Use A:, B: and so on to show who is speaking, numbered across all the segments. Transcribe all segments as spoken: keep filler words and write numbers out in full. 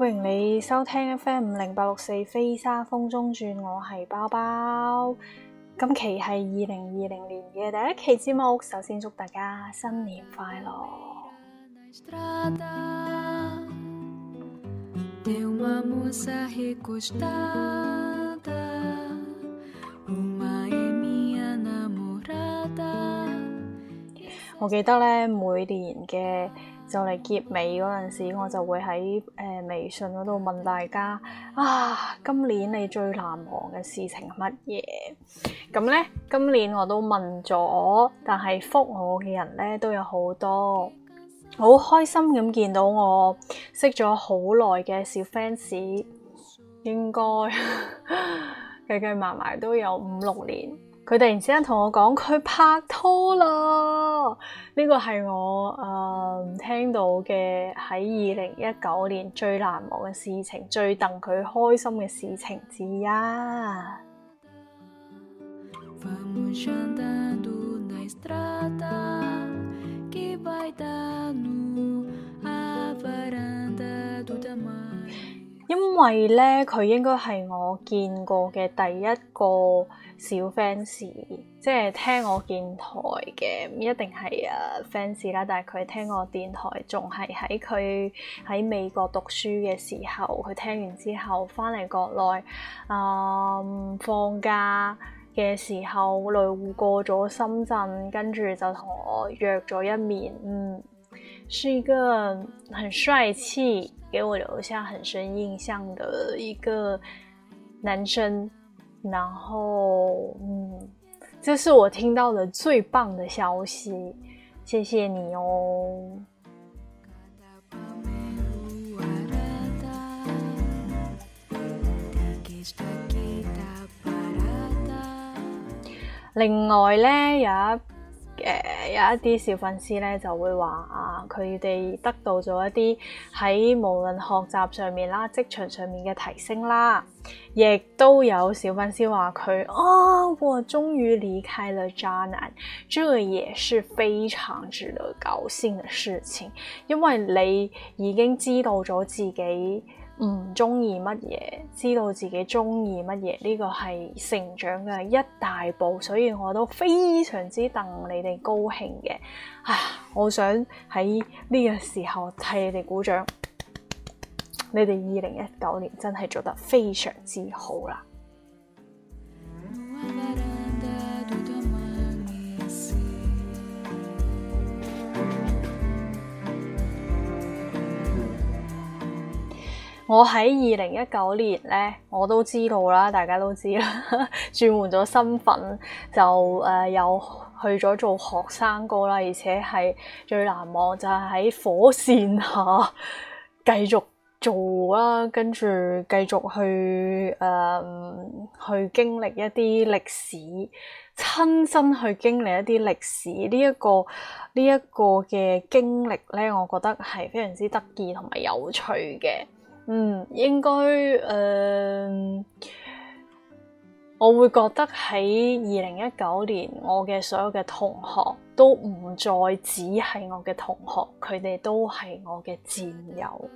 A: 歡迎你收聽 F M 五零八六四飛沙風中轉，我係包包。今期係二零二零年嘅第一期節目，首先祝大家新年快樂。我記得咧，每年嘅就嚟結尾嗰陣時，我就會喺誒、呃、微信嗰度問大家啊，今年你最難忘嘅事情係乜嘢？咁咧，今年我都問咗，但係覆我嘅人咧都有好多，好開心咁見到我識咗好耐嘅小 fans， 應該計計埋埋都有五六年。佢突然之間同我講佢拍拖啦，呢個係我誒、呃、聽到嘅喺二零一九年最難忘嘅事情，最戥佢開心嘅事情之一。因為咧，佢應該係我見過嘅第一個小 fans， 即係聽我電台嘅，唔一定係誒 fans 啦，但係佢聽我電台仲係喺佢喺美國讀書嘅時候，佢聽完之後翻嚟國內，嗯，放假嘅時候路過咗深圳，跟住就同我約咗一面，嗯，是一個很帥氣，給我留下很深印象的一個男生，然後嗯，這是我聽到的最棒的消息，謝謝你哦。另外咧，有一誒、呃、有一啲小粉絲咧就會話啊，佢哋得到咗一啲喺無論學習上面啦、職場上面嘅提升啦，亦都有小粉絲話佢啊，我終於離開了渣男，這也是非常值得高興嘅事情，因為你已經知道咗自己唔中意乜嘢，知道自己中意乜嘢，呢個係成長嘅一大步，所以我都非常之戥你哋高興嘅。啊，我想喺呢個時候替你哋鼓掌，你哋二零一九年真係做得非常之好啦。我喺二零一九年咧，我都知道啦，大家都知啦，轉換咗身份，就誒、呃、又去咗做學生哥啦，而且係最難忘就係喺火線下繼續做啦，跟住繼續去誒、呃、去經歷一啲歷史，親身去經歷一啲歷史呢一個呢一個嘅經歷咧，我覺得係非常之得意同埋有趣嘅。嗯，應該誒、呃，我會覺得喺二零一九年，我嘅所有嘅同學都唔再只係我嘅同學，佢哋都係我嘅戰友。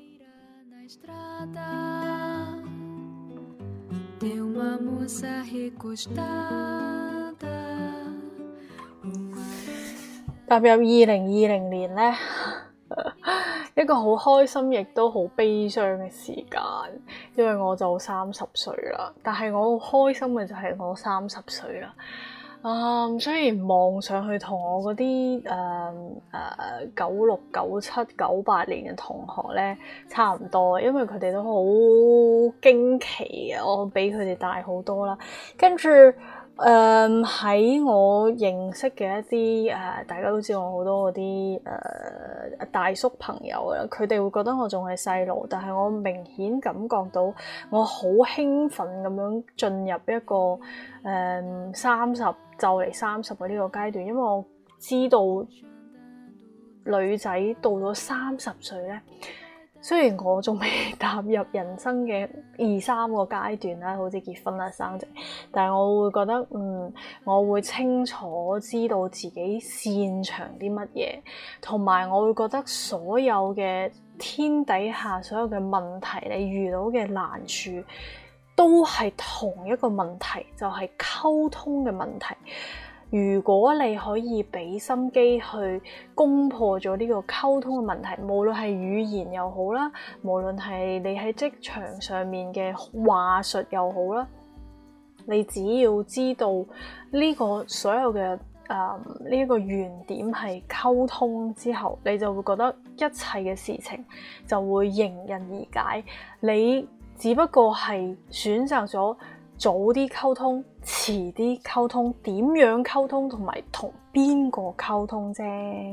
A: 踏入二零二零年咧，一個好開心亦都好悲傷嘅時間，因為我就三十歲啦。但係我好開心嘅就係我三十歲啦。啊、嗯，雖然望上去同我嗰啲誒誒九六、九七、九八年嘅同學咧差唔多，因為佢哋都好驚奇嘅，我比佢哋大好多啦。跟住誒喺我認識嘅一啲誒、呃，大家都知我好多嗰啲誒大叔朋友啦，佢哋會覺得我仲係細路，但係我明顯感覺到我好興奮咁樣進入一個誒三十就嚟三十嘅呢個階段，因為我知道女仔到咗三十歲咧， 雖然我仲未踏入人生嘅二三個階段啦，好似結婚啦、生仔，但係我會覺得，嗯，我會清楚知道自己擅長啲乜嘢，同埋我會覺得所有嘅天底下所有嘅問題，你遇到嘅難處都係同一個問題，就係溝通嘅問題。如果你可以俾心機去攻破咗呢個溝通嘅問題，無論係語言又好啦，無論係你喺職場上面嘅話術又好啦，你只要知道呢個所有嘅誒呢一個原點係溝通之後，你就會覺得一切嘅事情就會迎刃而解。你只不過係選擇咗早啲溝通，遲啲溝通，點樣溝通同埋同邊個溝通啫。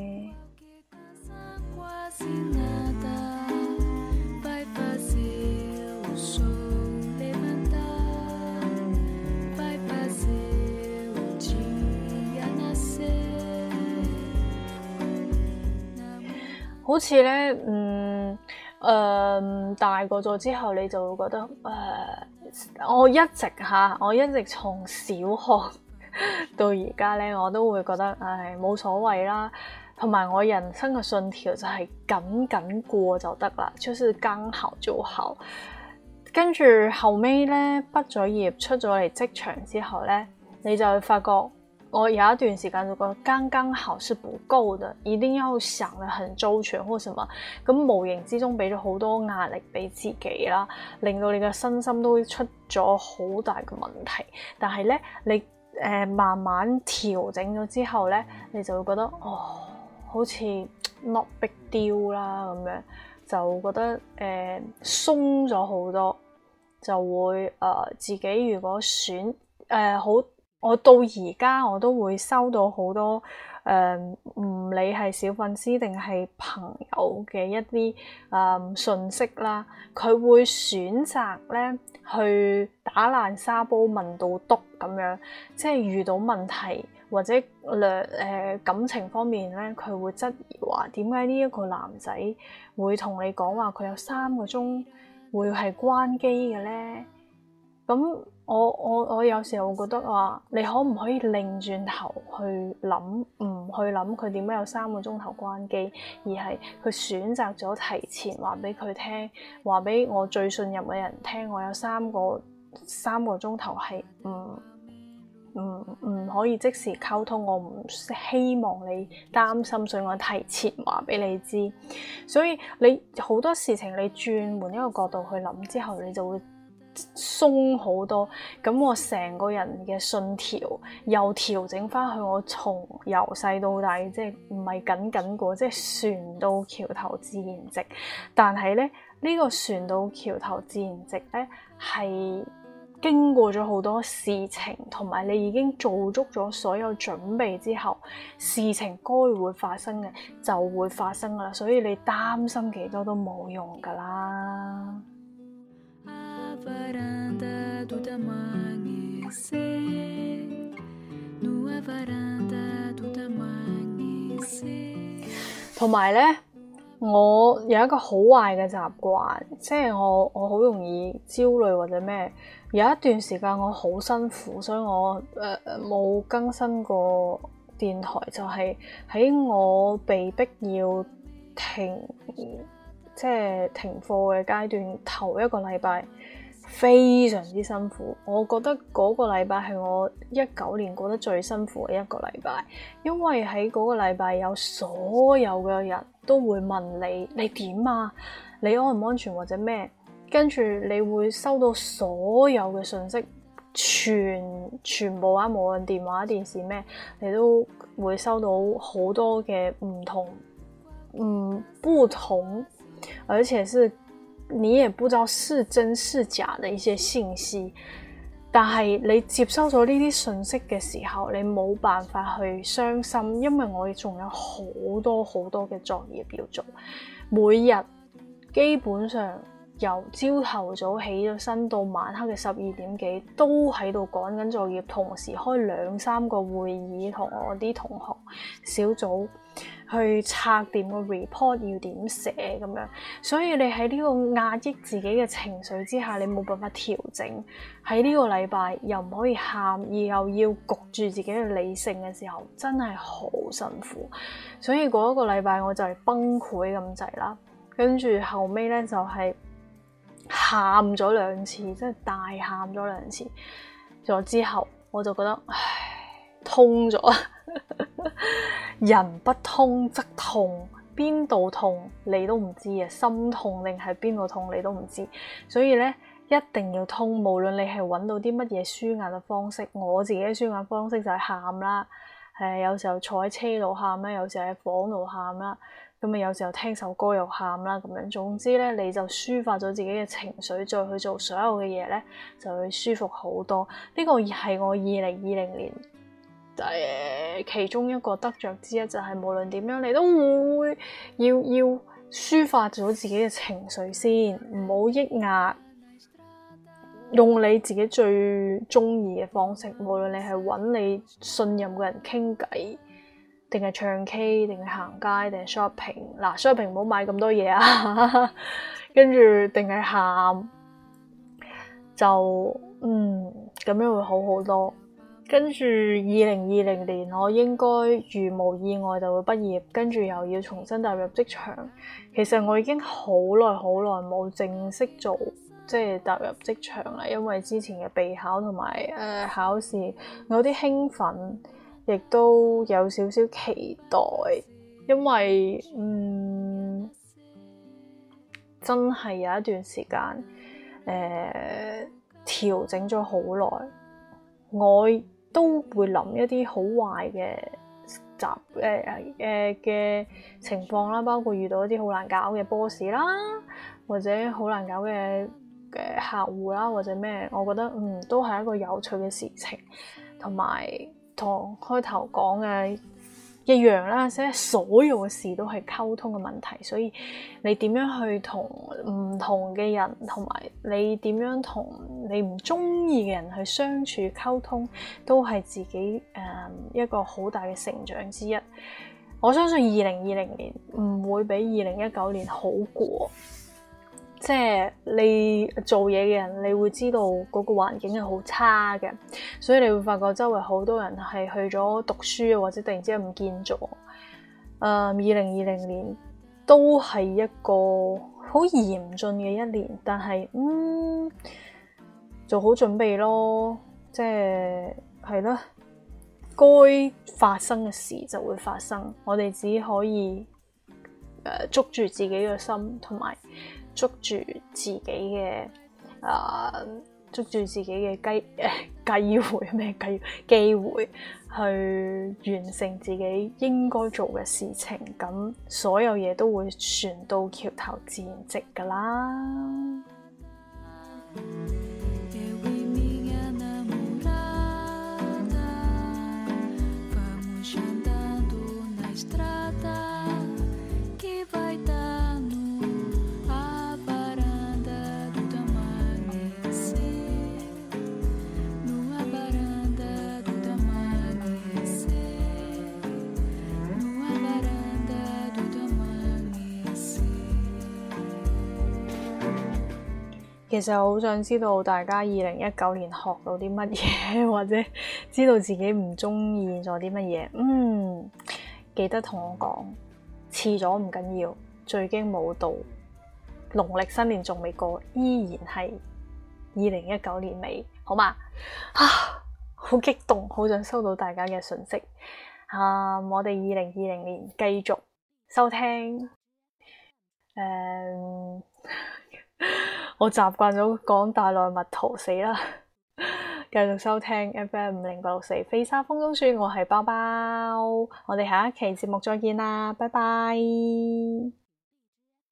A: 好似咧，嗯，誒、呃，大個咗之後，你就會覺得，誒、呃，我一直吓，我一直從小學到而家咧，我都會覺得，唉，冇所謂啦。同埋我人生嘅信條就係緊緊過就得啦，就是剛好就好。跟住後尾咧，畢咗業出咗嚟職場之後咧，你就會發覺。我有一段時間就覺得剛剛好是不夠的，一定要想得很周全或什麼，咁無形之中俾咗好多壓力俾自己啦，令到你嘅身心都出咗好大嘅問題。但係咧，你誒、呃、慢慢調整咗之後咧，你就會覺得哦，好似 not big deal 啦咁樣，就覺得誒鬆咗好多，就會誒、呃、自己如果選誒好。呃我到而家我都會收到好多誒，唔理係小粉絲定係朋友嘅一啲誒信息啦，佢會選擇咧去打爛沙煲問到篤咁樣，即係遇到問題或者兩誒、呃、感情方面咧，佢會質疑話點解呢一個男仔會同你講話佢有三個鐘會係關機嘅咧？咁我我我有時候會覺得話，你可唔可以擰轉頭去諗，唔去諗佢點解有三個鐘頭關機，而係佢選擇咗提前話俾佢聽，話俾我最信任嘅人聽，我有三個三個鐘頭係唔唔唔可以即時溝通，我唔希望你擔心，所以我提前話俾你知。所以你好多事情你轉換一個角度去諗之後，你就會鬆好多，咁我成個人嘅信條又調整翻去我從由細到大，即係唔係緊緊過，即係船到橋頭自然直。但係咧，呢個船到橋頭自然直咧，係經過咗好多事情，同埋你已經做足咗所有準備之後，事情該會發生嘅就會發生噶啦，所以你擔心幾多都冇用噶啦。同埋咧，我有一個好壞嘅習慣，即係我我好容易焦慮或者咩。有一段時間我好辛苦，所以我誒冇、呃、更新過電台，就係、是、喺我被逼要停，即係停課嘅階段，頭一個禮拜。非常之辛苦，我覺得嗰個禮拜係我一九年過得最辛苦嘅一個禮拜，因為喺嗰個禮拜有所有嘅人都會問你，你點啊？你安唔安全或者咩？跟住你會收到所有嘅信息，全全部啊，無論電話、電視咩，你都會收到好多嘅唔同，嗯，不同，而且是。你也不知道是真是假的一些信息，但係你接收咗呢啲信息嘅時候，你冇辦法去傷心，因為我仲有好多好多嘅作業要做，每日基本上由朝頭早起咗身到晚黑嘅十二點幾，都喺度趕緊作業，同時開兩三個會議，同我啲同學小組去拆掂個 report 要點寫咁樣。所以你喺呢個壓抑自己嘅情緒之下，你冇辦法調整。喺呢個禮拜又唔可以喊，而又要焗住自己嘅理性嘅時候，真係好辛苦。所以嗰一個禮拜我就係崩潰咁滯啦。跟住後尾咧就係喊咗兩次，即係大喊咗兩次。咗之後我就覺得唉，通咗。人不通則痛，邊度痛你都唔知啊，心痛定係邊度痛你都唔知。所以咧一定要通，無論你係揾到啲乜嘢舒壓嘅方式。我自己嘅舒壓方式就係喊啦，誒有時候坐喺車度喊啦，有時候喺房度喊啦。咁啊，有時候聽首歌又喊啦，咁樣。總之咧，你就抒發咗自己嘅情緒，再去做所有嘅嘢咧，就會舒服好多。呢、這個係我二零二零年誒其中一個得着之一，就係、是、無論點樣，你都會要要抒發咗自己嘅情緒先，唔好抑壓，用你自己最中意嘅方式。無論你係揾你信任嘅人傾偈，定係唱 K， 定係行街，定係 shopping。嗱 shopping 唔好買咁多嘢啊，跟住定係喊，就嗯咁樣會好好多。跟住二零二零年我應該如無意外就會畢業，跟住又要重新踏入職場。其實我已經好耐好耐冇正式做即係踏入職場啦，因為之前嘅備考同埋誒考試，我有啲興奮。亦都有少少期待，因為嗯真係有一段時間誒調整咗好耐，我都會諗一啲好壞嘅習誒誒嘅情況啦，包括遇到一啲好難搞嘅 boss 啦，或者好難搞嘅嘅客戶啦，或者咩，我覺得嗯都係一個有趣嘅事情，同埋。同開頭講嘅一樣啦，即係所有嘅事都係溝通嘅問題，所以你點樣去同唔同嘅人，同埋你點樣同你唔中意嘅人去相處溝通，都係自己誒、呃、一個好大嘅成長之一。我相信二零二零年唔會比二零一九年好過。即係你做嘢嘅人，你會知道嗰個環境係好差嘅，所以你會發覺周圍好多人係去咗讀書，或者突然之間唔見咗。誒、呃，二零二零年都係一個好嚴峻嘅一年，但係嗯做好準備咯，即係係咯，該發生嘅事就會發生，我哋只可以誒、呃、捉住自己嘅心，同埋。捉住自己嘅啊、呃，捉住自己嘅機誒機會咩機機會去完成自己應該做嘅事情，咁所有嘢都會船到橋頭自然直噶啦。其實我好想知道大家二零一九年學到啲乜嘢，或者知道自己唔中意咗啲乜嘢。嗯，記得同我講，遲咗唔緊要，最經冇到，農曆新年仲未過，依然係二零一九年尾，好嘛？啊，好激動，好想收到大家嘅訊息。啊，我哋二零二零年繼續收聽。誒、嗯。我習慣咗講大內密圖，死啦！繼續收聽 F M 五零八六四飛沙風中轉，我係包包，我哋下一期節目再見啦，拜拜。